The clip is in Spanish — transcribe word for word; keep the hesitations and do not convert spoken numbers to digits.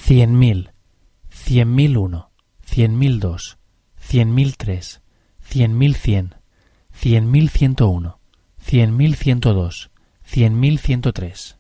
cien mil, cien mil uno, cien mil dos, cien mil tres, cien mil cien, cien mil ciento uno, cien mil ciento dos, cien mil ciento tres.